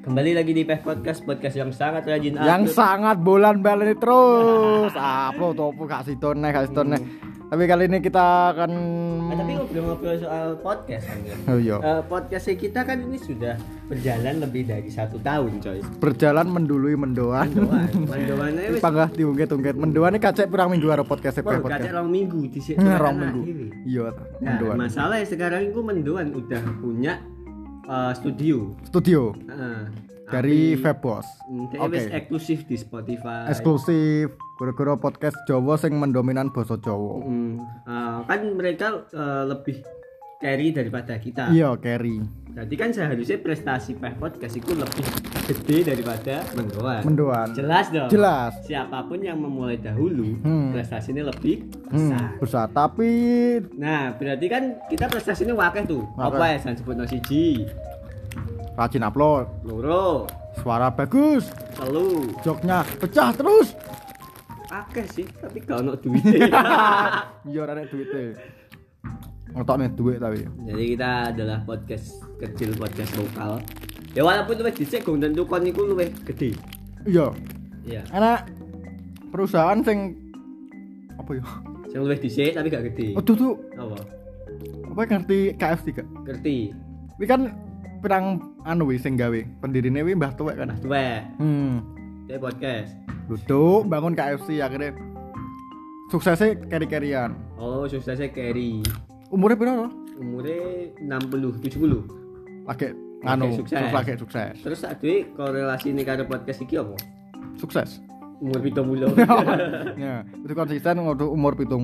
Kembali lagi di PEH Podcast yang sangat rajin yang sangat bulan baleni terus. Upload topo gak sitone. Tapi kali ini kita akan tapi ngobrol-ngobrol soal podcast kan. Oh iya. Podcastnya kita kan ini sudah berjalan lebih dari 1 tahun, coy. Berjalan mendului mendoan. Mendoannya wis panggah diungkit-ungkit. Mendoane kacek pirang minggu karo podcast podcast. podcast. Kacek 2 minggu di sini. 2 minggu. Iya, mendoan. Nah, masalahnya sekarang itu mendoan udah punya studio. Dari Febos. Oke. Eksklusif di Spotify. Eksklusif. Gara-gara podcast Jawa sing mendominan basa Jawa. Kan mereka lebih carry daripada kita. Iya, carry. Jadi kan seharusnya prestasi PEH Podcast itu lebih gede daripada mendoan. Jelas dong. Jelas. Siapapun yang memulai dahulu, prestasinya lebih besar. Tapi nah, berarti kan kita prestasinya wakeh tuh. Apa ya? Sebutno siji. Rajin upload. Loro. Suara bagus. 3. Joknya pecah terus. Akeh sih, tapi gak ono duitnya. Iya, ora nek duite. Ngotokne duit tapi. Jadi kita adalah podcast kecil, podcast lokal. Ya walaupun luwih dhisik gong tentu kon niku luwih gede. Iya. Iya. Ana perusahaan sing apa ya? Sing luwih dhisik tapi gak gede. Oh, tuh. Apa? Apa ngerti KFC gak? Ngerti. Kuwi kan pirang anu wis sing gawe. Pendirine wi Mbah Tuwek kan. Mbah Tuwek. Kayak podcast. Duduk bangun KFC akhirnya suksesnya carry-carryan. Oh, suksesnya carry. Umurnya berapa? Umurnya 60, 70. Lagi nganu, lagi sukses. Terus aduh korelasi ini karo podcast iki apa? Sukses. Umur 70. Ya, itu konsisten untuk umur 70.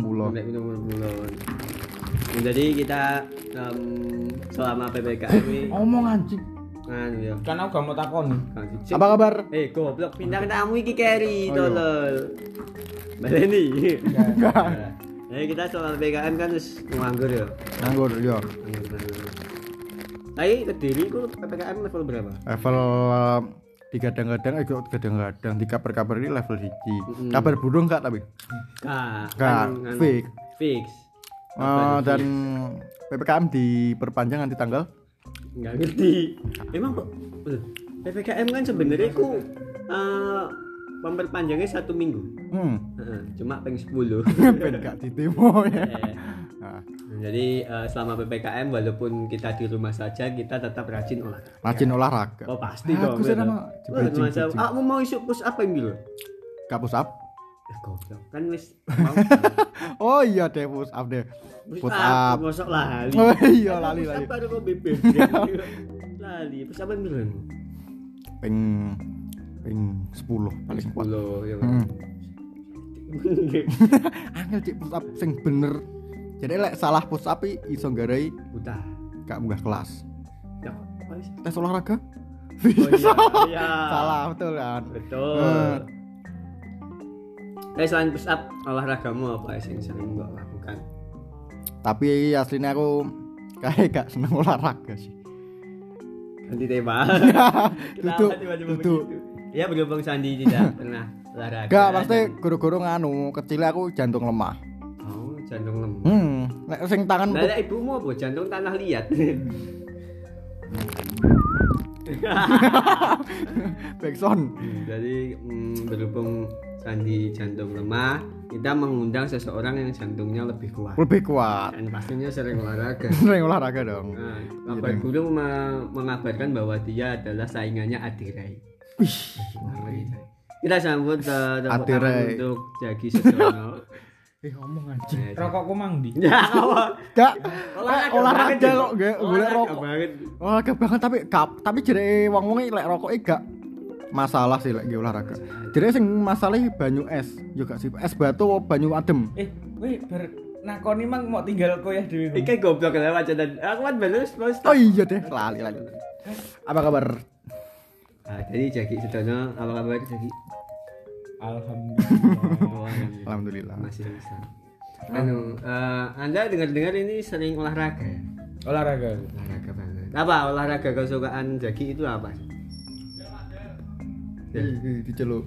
Jadi kita selama PPKM ini ngomong anjing. Ya. Kan aku gak mau takon. Apa kabar? Goblok bintang tamu iki carry tolol. Baleni. Enggak. Kita soal PPKM kan terus nganggur ya. Nganggur ya. Tapi Kediri ku PPKM level berapa? Level digadang-gadang di kabar-kabar ini level 1. Kabar burung enggak tapi? Enggak. Fix. Dan PPKM diperpanjang nanti tanggal? Enggak ngerti. Emang kok PPKM kan sebenarnya ku memperpanjangnya 1 minggu. Cuma pengen 10. Pengen gak ditemo ya. Jadi selama PPKM walaupun kita di rumah saja kita tetap rajin olahraga. Rajin olahraga. Oh pasti dong. Aku mau isu push up yang gitu. Gak push up? Goblok kan wis Oh iya deh push up deh. Push up. Mosok lali. Oh iya lali. Push up baru kok bebek. Lali. Push up berapa? Ping 10 paling 10 ya. Angel cik push up sing bener. Jadi lek salah push up iso nggarai buta. Gak munggah kelas. Ya, tes olahraga? Oh iya. Salah betul kan? Betul. Selain push up, olahragamu apa yang sering mbak lakukan? Tapi aslinya aku kayak gak seneng olahraga sih. Ganti tema. Duduk. Ya berhubung Sandi tidak pernah olahraga. Gak, pasti guru-guru nganu, kecilnya aku jantung lemah. Oh, jantung lemah. Nek sing tangan lah ibumu apa? Jantung tanah liat. Backson. Jadi berhubung Sandi jantung lemah, kita mengundang seseorang yang jantungnya lebih kuat. Dan pastinya sering olahraga. Sering olahraga dong. Nah, kabar burung mengabarkan bahwa dia adalah saingannya Adirai. Kita sambut tepuk tangan untuk Jagi Sejono. Ngomong anjing. Rokokku mang ndi? Ya, Gak olahraga kok gak golek rokok. Olahraga banget tapi jere wong-wong lek rokoke gak masalah sih lek olahraga. Jere sing masalah banyu es yo gak sih. Es batu banyu adem. Weh bar nakoni mang mau tinggal koyah dhewe. Iki goblok lewat dan aku kan balus. Oh iya deh, lali. Apa kabar? Jadi Jagi Sejono, apa kabar Jagi? Alhamdulillah. Masih bisa. Anda dengar-dengar ini sering olahraga. Olahraga banget. Apa olahraga kesukaan Jagi itu apa? Diceluk.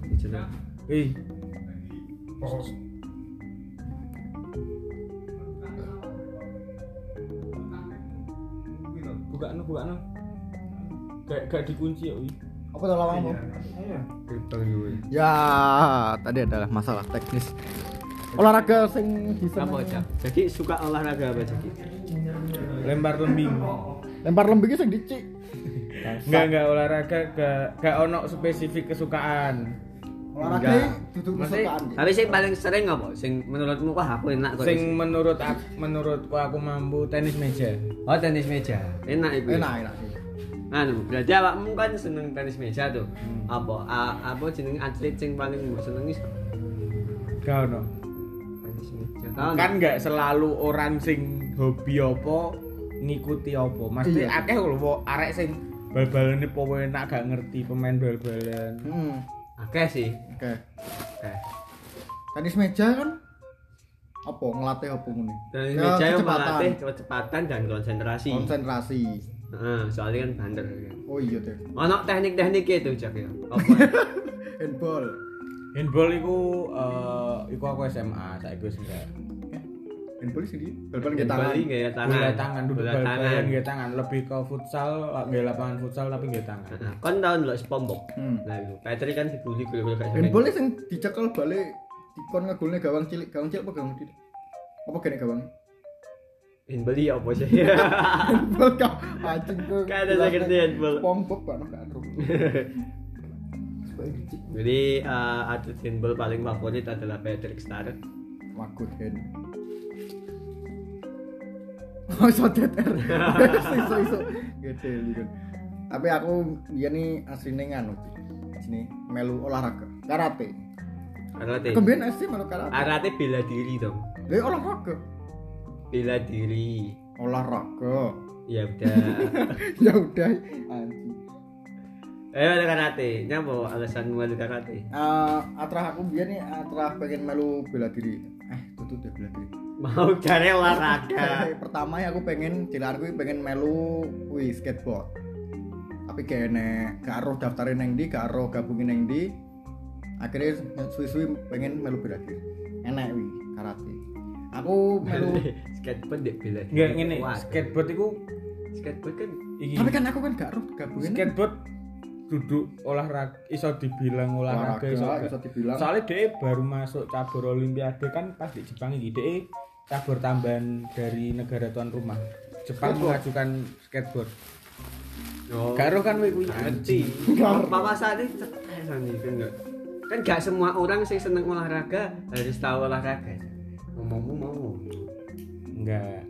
Buka no. Gak dikunci ya, Apa tuh lawangmu? Gerbang gue. Ya, tadi adalah masalah teknis. Olahraga sing bisa Apa Cak? Jadi suka olahraga apa Cak? Lempar lembing. lempar lembing sing dicik. Enggak olahraga gak ono spesifik kesukaan. Olahraga Enggak. duduk Masih- kesukaan. Tapi sing paling sering apa? Sing menurutmu wah aku enak kok. Sing menurutku aku mampu tenis meja. Oh tenis meja. Enak itu. Enak sih. Anu, berarti awakmu kan seneng tenis meja tuh. Apa jeneng atlet sing paling mbok senengi sapa? Gak ono. Tenis meja. Kan nggak selalu orang sing hobi apa ngikuti apa. Mesti Iya. akeh lho arek sing bal-balane po enak gak ngerti pemain bal-balan. akeh sih. Oke. Akeh. Tenis meja kan apa ngelatih apa ngene? Tenis Ya, meja yang kecepatan. melatih kecepatan dan konsentrasi. Konsentrasi. Heeh, soalnya kan banter kan. Oh iya deh. Ono teknik-tekniknya itu Cak ya. Apa? Handball. Handball iku aku SMA, saiki wis enggak. Handball sih dia. Bal-balan kita tangan. Bali gaya tangan. Bola tangan, duduk Bola bal-balan tangan. nggih tangan, lebih ke futsal, nggih lapangan futsal tapi nggih tangan. Heeh. Kon tau ndelok SpongeBob. Hmm. Nah itu. Patrick kan dibully gol-gol kayak Handball sing dicekel balik dikon ngegolne gawang cilik apa gawang cilik? Apa kene gawang? Handball ya apa sih? Handball kah? Anjing kok. Gak ada saya ngerti handball. Pongbok kan gak ada. Jadi atlet handball paling favorit adalah Patrick Star. Wakut hen. Oh, iso DTR. Iso. Gede kan. Tapi aku dia nih asline nganu. Sini melu olahraga. Karate. Karate. Kemben asli melu karate. Karate bela diri dong. Lah olahraga. Bela diri. Olahraga. Ya udah. Ya udah anjing. Ada karate. Nyapa alasanmu ada karate? Atrah aku biar nih atrah pengen melu bela diri. Tutup deh bela diri. Mau cari olahraga. Pertama ya aku pengen jalanku pengen melu skateboard. Tapi kayaknya gak aruh daftarin neng di, gak aruh gabungin neng di. Akhirnya suwi-suwi pengen melu bela diri. Enak wi karate. Aku melu. Skateboard dek bela diri. Enggak ngene, Wah, skateboard iku skateboard kan iki. Tapi kan aku kan gak aruh gabungin. Skateboard duduk olahraga iso dibilang olahraga iso. Bisa dibilang. Soalnya dia baru masuk cabur olimpiade kan pas di Jepang iki dia cabur tambahan dari negara tuan rumah. Jepang mengajukan skateboard. Oh. Karo kan kuwi ngerti. Papa saat ini kan enggak. Kan gak semua orang sih seneng olahraga harus tahu olahraga. Ngomongmu mau. enggak.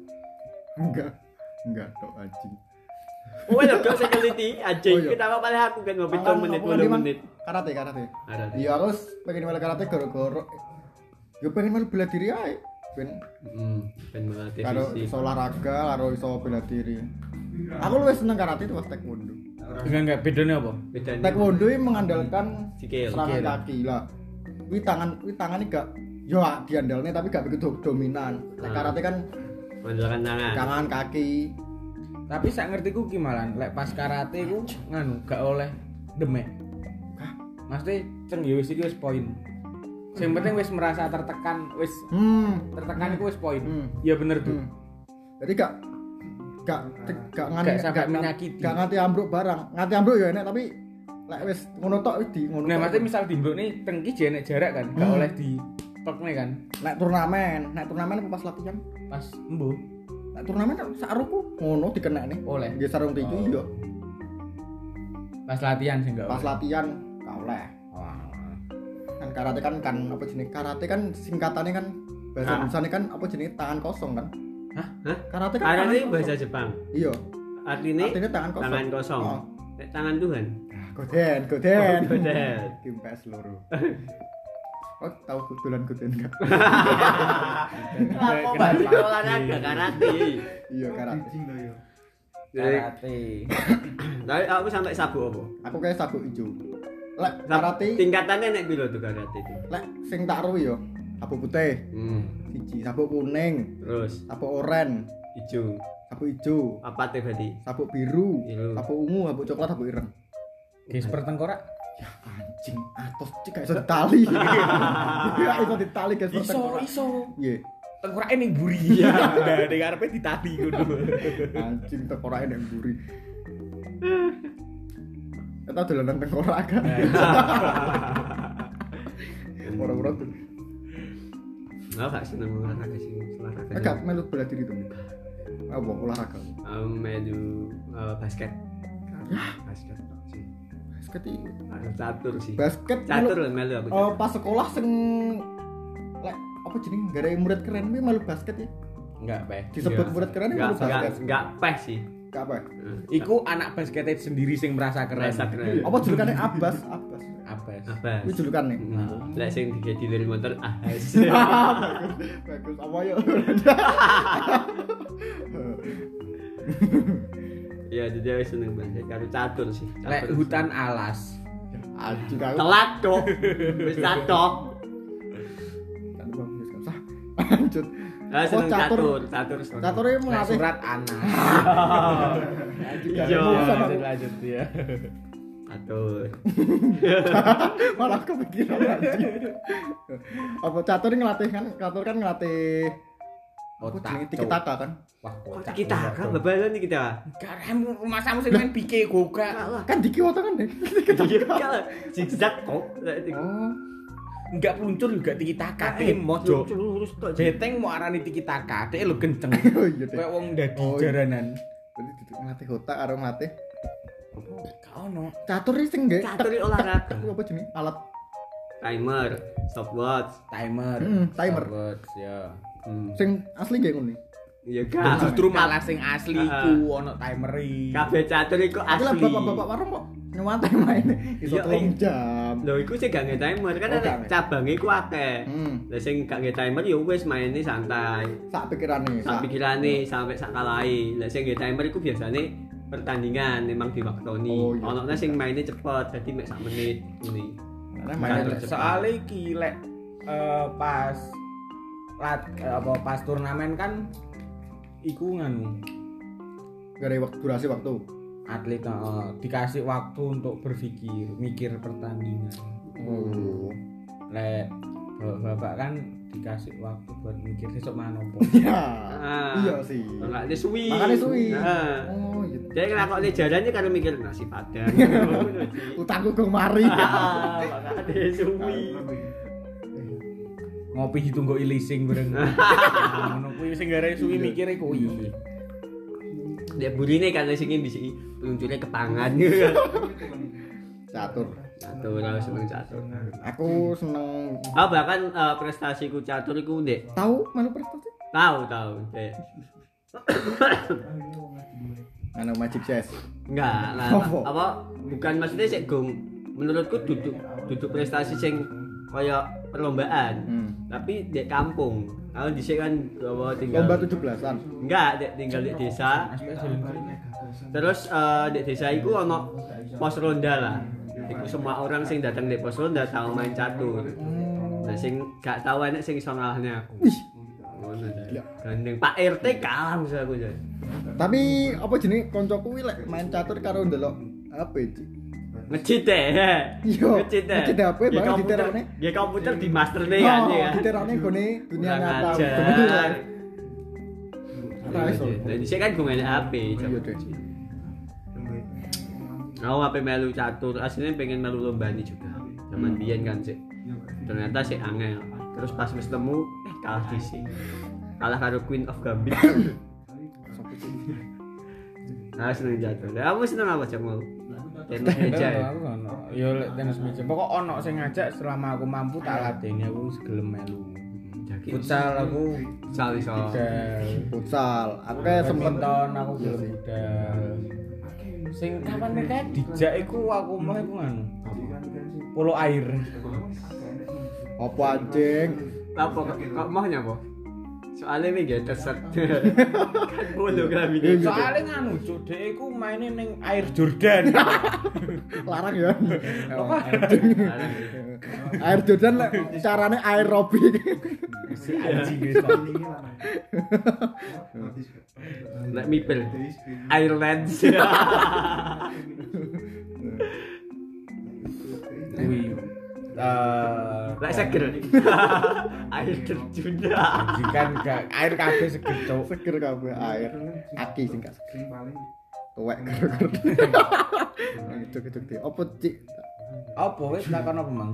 Enggak tok anjing. Oh, ya gak usah keliti anjing. Oh, iya. Kita apa paling aku kan ngopi Makan 2 menit, apa tadi, 10 Mang? menit. Karate. Karate. Iya harus pengen melu karate goro-goro. Ya pengen melu bela diri ae. Ben Ben melatih karo fisik. iso olahraga, karo iso bela diri. Aku luwih seneng karate itu pas taekwondo. Enggak bedanya apa? Bedanya Taekwondo ini mengandalkan Sikil. serangan kaki lah. Wi tangan ini gak yo diandalnya tapi gak begitu dominan. Nek karate kan mengandalkan tangan. tangan kaki. Tapi sak ngertiku ki malan lek pas karate ku nganu gak oleh demek. Maksudnya ceng ya wis iki wis poin. Sing penting wis merasa tertekan, wis tertekan iku wis poin. Ya bener tuh. Jadi gak Gak sampai menyakiti. Gak nganti ambruk barang. Nganti ambruk ya enak tapi lek wis ngono tok wis di ngono. Nah, tok. maksudnya misal dimbruk nih tengki jenek jarak kan, gak oleh di pekne kan. Nek turnamen apa pas latihan? Pas embuh Nek turnamen saruku ngono dikenek nih. oleh. Nggih sarung tinju iya. Pas latihan sih enggak Pas latihan gak oleh. Kan karate kan apa jenis karate kan singkatannya kan bahasa Indonesia kan apa jenis tangan kosong kan? Hah? Karate kan Karate tangan itu kosong. bahasa Jepang. Iya. Artinya Tangan kosong. tangan kosong. Oh. Nek tangan Tuhan. Goden. Goden. Kim PS loro. Oh, tahu goden enggak? Apa balik olahraga karate? Iya karate. karate. Tapi aku sampai sabuk apa? Aku kayak sabuk ijo. Lek karate, Tingkatannya nek piro tuh karate itu? lek sing tak ro yo. Sabuk putih, siji, sabuk kuning, Terus sabuk oranye, hijau. sabuk ijo, Apa tuh berarti? sabuk biru, Biru. sabuk ungu, sabuk coklat, sabuk ireng. Guys pertengkorak. Ya anjing, atos cik gak iso ditali. Gak iso ditali guys. Iso. Iya. Tengkorake ning buri. Iya. Nah, ning arepe ditali ngono. Anjing tekorake nek mburi. Kita dolanan tengkorak kan. Ora-ora tuh. Nggak gak seneng olahraga sih, olahraga. Agak melu bela diri tuh. Apa olahraga? Melu basket. Basket sih. Basket iki. Catur sih. Basket Catur lah melu aku. Pas sekolah sing lek apa jeneng gara murid keren kuwi melu basket ya. Enggak, Pak. Disebut murid keren melu basket. Enggak peh sih. Enggak apa? Iku anak basketnya sendiri sing merasa keren. Merasa keren. Apa julukane Abbas? Abbas. Abas. Kuwi julukane. Lek sing digedilir motor Ahas. Bagus apa ya? Ya jadi aku seneng banget karo catur sih. Lek hutan alas. Anjing aku. Telat kok. Wis catok. Kan bagus kan. Sah. Lanjut. Ah seneng catur. Cature Lek melatih. surat anas. Anjing Iya. Lanjut ya. Catur. Malah kepikiran anjing. Apa catur ngelatih kan? Catur kan ngelatih Otak. tiki-taka kan? Wah, Kok kita kan bebalan nih kita. Karemu rumah samu sing main pike goga. Kan diki wota kan deh. Iya, zigzag kok. Oh. Enggak peluncur juga tiki taka. Dek mojo. lurus tok. Beteng mau arani tiki taka. Dek lo kenceng. Oh iya deh. Kayak wong dadi Oh, iya. jaranan. Berarti duduk ngelatih otak karo ngelatih Gak ono. catur iki sing nggih. Catur iki olahraga. Apa jenenge? Alat Timer, stopwatch. Timer. Timer. Stopwatch, ya. Sing asli nggih ngono. Iya Dan kan. justru malah sing asli iku ono timeri. Kabeh catur iku Tapi lah asli. bapak-bapak warung kok nyewantai main iso Iya, 3 jam. Lho iku sing gak nge timer kan Oh, ada gak nge. cabange iku akeh. Lah sing gak nge timer ya wis maine santai. Sak pikirane. Sak pikirane sampai sak kalahi. Lah sing nge timer iku biasane pertandingan memang diwaktoni. Oh, iya. Ono sing maine cepet dadi mek sak menit ngene. Nah, Main main cepet. Soale iki lek pas pas turnamen kan iku nganu gara durasi waktu. atlet dikasih waktu untuk berpikir, mikir pertandingan. Oh. Lek bapak kan dikasih waktu buat mikir besok manopo. Ya. Ah. Iya sih. Makane suwi. Makane suwi. Heeh. Oh iya. Jadi nglakoni jarane karo mikir nasi padang. Utangku gong mari. Ah, makane suwi. Ngopi ditunggu ilising bareng. Ngono kuwi sing gare suwi mikire kuwi. Dek burine kan sing bisa peluncurnya kepangan. Catur. Catur aku seneng catur. Aku seneng Bahkan prestasiku catur iku Dek. tahu melu prestasi. Tahu, Dek. Anu Magic Chess. Enggak, lah apa bukan maksudnya sik gong menurutku duduk prestasi sing kaya perlombaan. Tapi di kampung. Kalau di kan bawa tinggal Lomba 17-an. Enggak, Dek, tinggal di desa. Terus di desa iku ono pos ronda lah. Iku semua orang sing datang di pos ronda tahu main catur. Nah sing gak tahu enek sing iso ngalahne aku. Ngono ta. Gandeng Pak RT kalah musuh aku jan. Tapi apa jenenge kancaku kuwi lek main catur karo ndelok HP iki. Ngecit deh. Iya. Ngecit deh. Ngecit HP bareng diterane. Ya komputer di master nih kan ya. Diterane gone dunia Kurang nyata. ajar. Ora iso. Jadi saya kan gue main HP. Iya deh. Aku HP melu catur, aslinya pengen melu lomba ini juga. Zaman biyen kan sih. Ternyata sih angel. Terus pas wis temu, kalah DC. Kalah karo Queen of Gambit. Nah, seneng catur. Kamu seneng apa cak mau? Tenis meja ya. Aku ono. Yo lek tenis meja. Pokok ono sing ngajak selama aku mampu tak lateni aku wis gelem melu. Futsal aku Sal iso. budal. Futsal. Aku kayak sempet Badminton aku gelem budal. Sing kapan mereka dijak iku aku mah iku nganu. Polo air. apa anjing? Apa kok mahnya apa? Soalnya ini gak terset. Kan bolu kan ini. Soale nganu cuk, dhek iku maine ning air Jordan. Larang ya. Apa? Air Jordan lek carane aerobik. Anjing wis. Nek mipel. Ireland. Kuwi Lek seger. Air terjun. kan gak air kabeh seger cuk. Seger kabeh air. Aki sing gak seger. tuwek gara-gara. Gitu. Apa cik? Apa wis takon apa mang?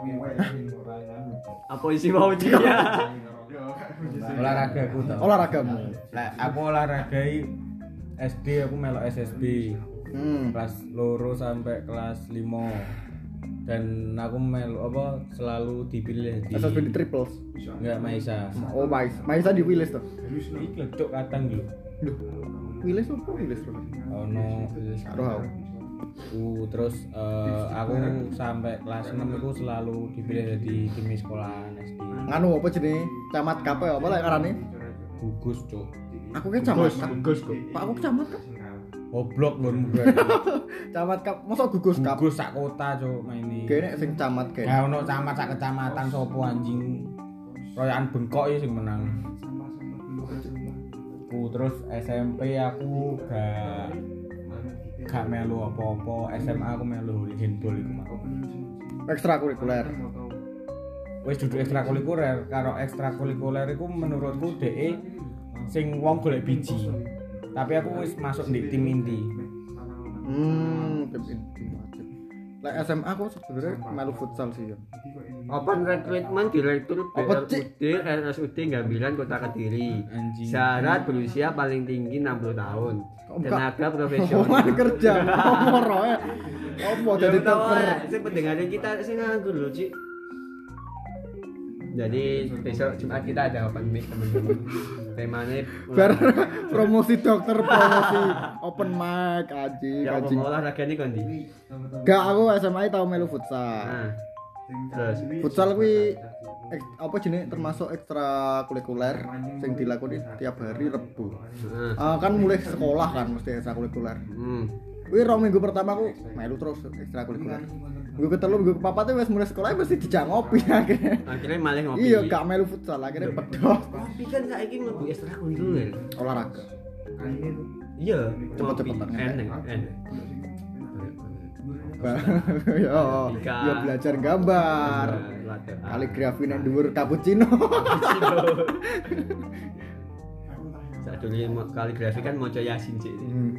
Apa isi mau dia? Olahragaku to. Olahragamu. Lah aku olahragai SD aku melok SSB. Kelas 2 sampai kelas 5. Dan aku selalu dipilih di SSB di triples. enggak Maisa. Oh, Maisa di Wilis tuh. Iki ledok kadang lho. Loh. Wilis apa Wilis terus? Ono Rohau. Terus aku sampai kelas 6 itu selalu dipilih di tim sekolahan SD. Nganu apa jenenge? Camat KP apa lek arane? Gugus, Cuk. Aku ke camat. Gus kok. Pak aku camat kap. Goblok lho Camat kap. Masa gugus kap? Gugus sak kota, Cuk, maini. Kene sing camat kene. Ya ono camat sak kecamatan sopo anjing. Royokan bengkok ya sing menang. Terus SMP aku gak melu apa-apa. SMA aku melu handball iku mah. Ekstrakurikuler. Wis dudu ekstrakurikuler, karo ekstrakurikuler iku menurutku DE sing wong golek biji. Tapi aku wis masuk di tim inti. Tim inti wajib. Lek SMA aku sebenarnya melu futsal sih ya. Open recruitment direktur Apa, Cik? BRUD RSUD Gambiran Kota Kediri. Anjing. Syarat berusia paling tinggi 60 tahun. Tenaga Omongan profesional. kerja. Apa roe? Apa jadi teper? Sing pendengaran kita sing nganggur lho, Cik. Jadi besok Jumat kita ada open mic teman-teman. Temanya Bar promosi dokter, promosi open mic anjing. ya apa olahraga ini kondi. Gak, aku SMA tau melu futsal. Nah. Terus Futsal kuwi apa jenenge termasuk ekstrakurikuler sing dilakoni tiap hari Rebo. Kan mulai sekolah kan mesti ekstrakurikuler. Kuwi 2 minggu pertama aku melu terus ekstrakurikuler. Minggu ke-3 minggu ke-4 wis mulai sekolah mesti dijak ngopi akhirnya. Akhirnya malah ngopi. Iya, gak melu futsal akhirnya pedot. Tapi kan saiki mlebu ekstrakurikuler. Olahraga. Iya, Cepet-cepetan. enak. Ya belajar gambar. Kaligrafi nang dhuwur cappuccino. Sadurunge kaligrafi kan maca Yasin, Cik.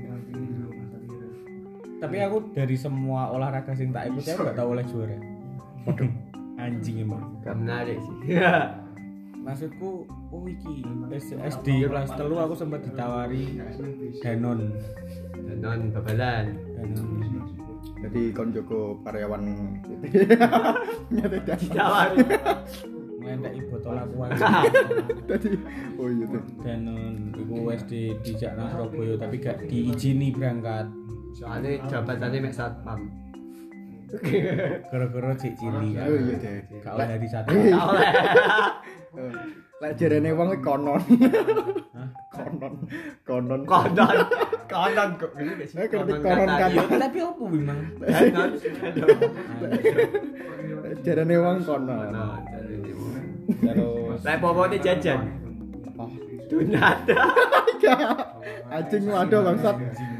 Tapi aku dari semua olahraga sing tak ikuti aku gak tau oleh juara. Waduh, anjing emang. Gak menarik sih. Maksudku, iki SD kelas 3 aku sempat ditawari Danon. Danon babalan. Jadi kon Joko karyawan nyata Ditawari. Ngendaki botol aku ae. Tadi oh iya tuh. Danon iku SD dijak nang Surabaya tapi gak diizini berangkat. Soalnya jabatannya mek satpam. Gara-gara cek cili kan. Oh iya deh. Gak oleh dari satu. Oleh. Lek jarene wong iki konon. Hah? Konon. Konon kok ini gak sih? Konon kata. Iya, tapi opo memang? Danon. Jarene wong konon. Terus Lah popote jajan. Apa? Donat. Anjing waduh bangsat.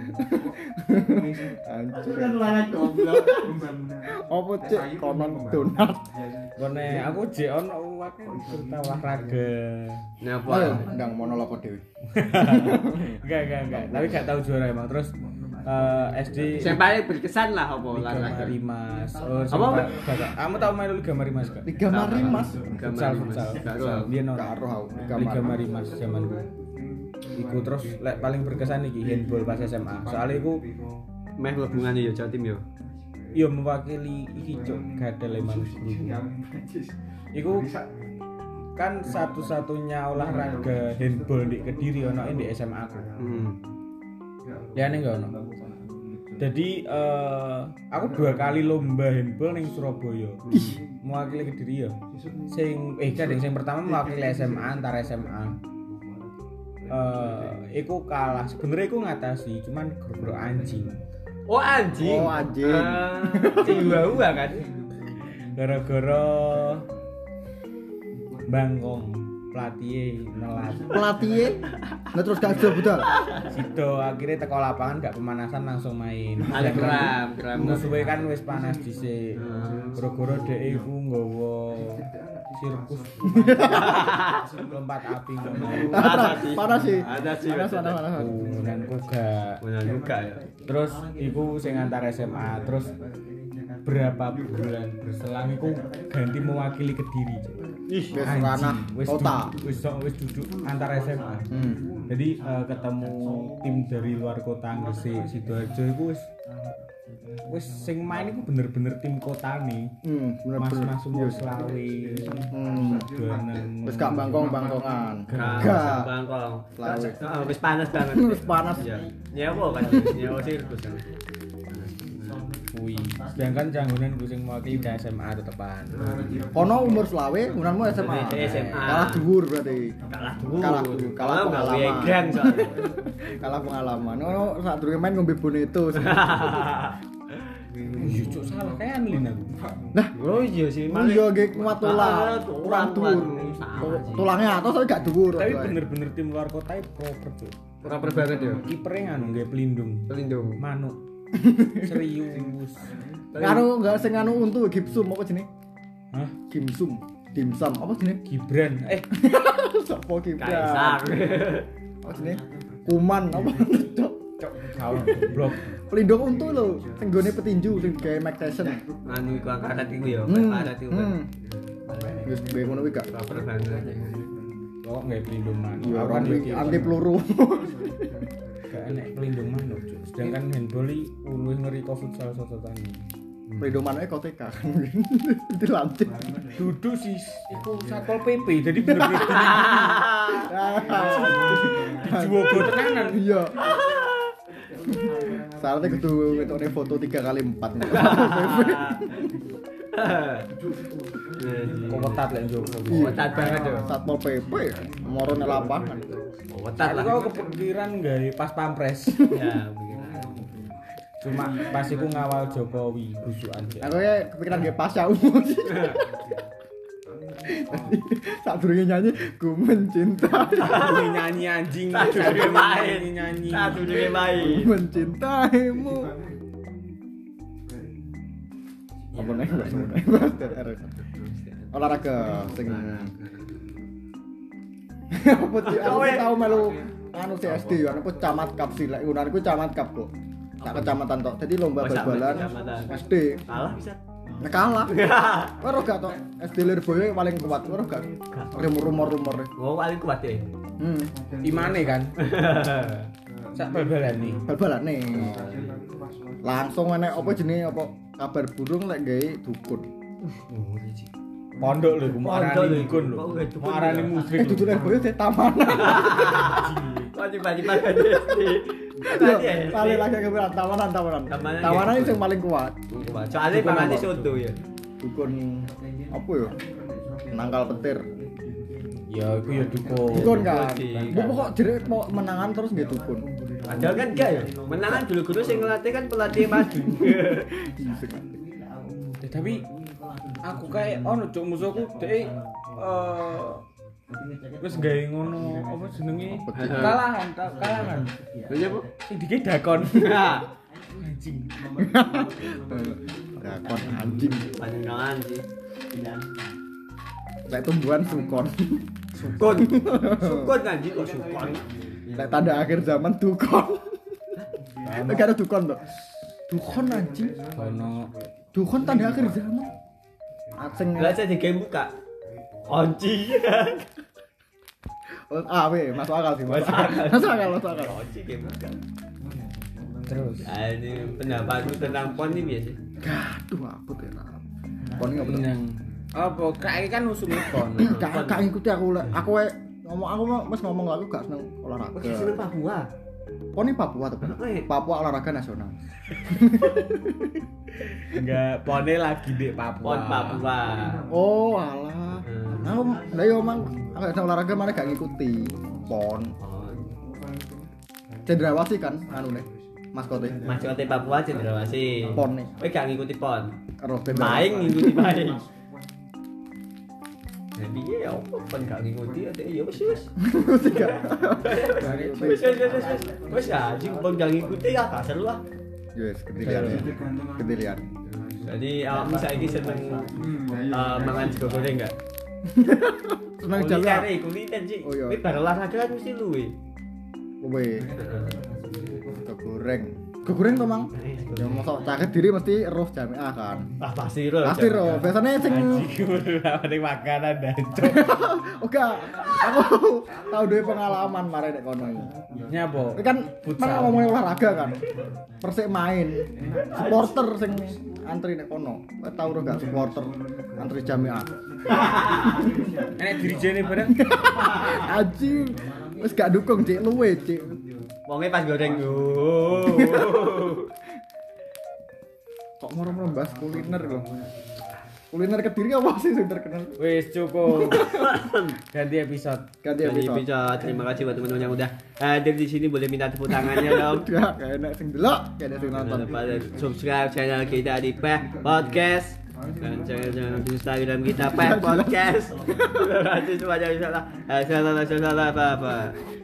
Anjing. Kan lalat goblok. Apa cek konon donat. kone aku jek ono akeh cerita olahraga. Napa? Oh, ndang monolog dhewe. Enggak. Tapi gak tahu juara emang. Terus SD Yang paling berkesan lah apa Liga olahraga? Marimas. Apa? Kamu tahu main Liga Marimas gak? Liga Marimas. Futsal. Dia Gak roh. Liga Marimas zaman gue. Iku terus lek paling berkesan iki handball pas SMA. Soalnya iku Meh hubungan ya Jatim ya. yo mewakili iki cuk gadel emang guru. Iku kan satu-satunya olahraga handball di Kediri ono di SMA aku. Liane enggak ono. Jadi aku 2 kali lomba handball ning Surabaya. Mewakili Kediri ya. Sing sing pertama mewakili SMA antar SMA. Iku kalah. Sebenarnya iku ngatasi, cuman gara-gara anjing. Oh anjing. Jiwa kan. Gara-gara bangkong pelatih nelat. Pelatih nggak terus gak ada budal. Sido akhirnya teko lapangan gak pemanasan langsung main. Ada kram. Musuhe kan wis panas dhisik. Gara-gara dhek iku nggawa sirkus. Lompat api ngono. Parah sih. Ada sih. Panas. Dan kuga. Benar juga ya. Terus iku sing antar SMA, terus berapa bulan berselang iku ganti mewakili Kediri. Wis ranah kota. Wis duduk antar SMA. Jadi ketemu tim dari luar kota Gresik, Sidoarjo iku wis sing main iku bener-bener tim kota nih. Mas umur selawe. Wis gak bangkong-bangkongan. Gak bangkong. Wis panas banget. Wis panas. Ya. Nyewa kan, nyewa sirkus kan. Kuwi. Sedangkan janggonan gue sing mewakili di SMA tetepan. Kono umur selawe, unanmu SMA. SMA. Kalah dhuwur berarti. Kalah pengalaman. Gang soalnya. Kalah pengalaman. Ono sak durunge main ngombe boneto. Iya cuk salah kan lin aku. Nah, Oh iya sih. iya nggih kuat tulang. Kurang dhuwur. Tulangnya atas tapi gak dhuwur. Tapi bener-bener tim luar kota proper tuh. Proper banget ya. Kipernya nganu nggih pelindung. Pelindung. Manuk. Serius. Karo enggak sing anu untu gipsum apa jenenge? Hah? Gimsum. Dimsum apa jenenge? Gibran. Sopo Gibran? Kaisar. Apa jenenge? Kuman apa? Cok. Kawan blok. Pelindung untu lho, sing gone petinju sing gawe Mike Tyson. Anu iku angkat iku ya, angkat iku. Wis be ngono kuwi gak Proper banget. Kok nggak pelindung manuk. ya Awan orang anti peluru. gak enek pelindung manuk cuk. Sedangkan handball iki luwih ngeri ke futsal sototane. Pelindung manuke koteka kan. Dilantik. Duduk sih iku Satpol PP jadi bener-bener dijuogo tenanan. Iya. Saatnya kudu ngetokne foto 3x4. Kok ketat lek njogo. Ketat banget ya. Satpol PP moro nang lapangan. Ketat lah. Kok kepikiran gawe pas pampres. Ya, begitu. Cuma pas iku ngawal Jokowi busukan. Aku ya kepikiran ge pas ya umur. Sak durunge nyanyi ku mencinta. Nyanyi anjing. Sadurunge main. Nyanyi. Sadurunge main. Mencintaimu. Apa nih? Olahraga sing apa sih? Aku tau melu anu CSD ya, apa camat cup sih. Lek ngono iku camat cup kok. Sak kecamatan tok. Dadi lomba bal-balan SD. Kalah bisa. Nek kalah. Ora gak tok. SD Lirboyo paling kuat. Ora gak. Rumor-rumor. Oh, paling kuat ya. Imane kan. Sak bal-balan nih. Bal-balan nih. Langsung enek apa jenenge apa kabar burung lek gawe dukun. Pondok lho, mau arani dukun lho. Mau arani musrik. Duduk Lirboyo di taman. Kok tiba-tiba kan SD. Paling lagi kebetulan tawanan. Tawanan itu yang paling kuat. Soalnya pamane soto ya. Dukun apa ya? Nangkal petir. Ya iku ya dukun. Dukun kan. Bu kok jere mau menangan terus nggih dukun. Padahal kan enggak ya. Menangan dulu-dulu sing ngelatih kan pelatih maju. Tapi aku kayak ono cuk musuhku dhek wis gawe ngono apa jenenge kalahan. Iya, Bu. Sing dike dakon. Anjing. Dakon anjing. Panjenengan sih. Lek tumbuhan sukon. Sukun anjing kok sukun. Lek tanda akhir zaman dukon. Lek ada dukon to. Dukon anjing. Ono Dukon tanda akhir zaman. Asing. Lah saya di game buka. Kunci. Weh, masuk akal sih. Masuk akal. Kunci game buka. terus. Ini pendapatku tentang pon ini biasa. Gaduh apa tuh ya. Pon enggak bener. Yang apa kayak kan usum pon. Gak ngikuti aku mas ngomong aku gak seneng olahraga. Oke, seneng Papua. Pon ini Papua tuh. Papua olahraga nasional. Enggak, ponnya lagi di Papua. Pon Papua. Oh, alah. Aku lah yo mang aku gak olahraga mana gak ngikuti. Pon. Cendrawasih kan anu nih. Maskote. Maskote Papua Cendrawasih. Pon nih. Kowe gak ngikuti pon. Karo Maing ngikuti maing. Jadi ya apa pon gak ngikuti ada ya wis. Wis anjing pon gak ngikuti ya gak seru ah. Yes, kedilian. Jadi awakmu saiki seneng mangan sego goreng enggak? Seneng jalan. Kuliner sih. Oh, iya. Ini bar olahraga kan mesti luwe. Kowe. Kegoreng to, Mang? Ya mosok caket diri mesti roh jamiah kan. Ah pasti roh. Pasti roh. Biasanya sing Ini makanan dancuk. oke, aku tahu duwe pengalaman mare nek kono iki. Nyapa? Ini kan mana ngomongin olahraga kan. Persik main. Supporter sing antri nek kono. Kowe tau ora gak supporter antri jamiah? Enek dirijene bareng. Anjing. Wis gak dukung Cik luwe, Cik. Wonge pas goreng yo. Kok moro-moro bahas kuliner lho. Kuliner Kediri apa sih sing terkenal? Wis cukup. Ganti episode. Ganti episode. Terima kasih buat teman-teman yang udah hadir di sini, boleh minta tepuk tangannya dong. Udah, kayak enak sing delok, kayak enak sing nonton. Jangan lupa subscribe channel kita di Peh Podcast dan jangan di Instagram kita Peh Podcast. Terima kasih semuanya. Salah apa-apa.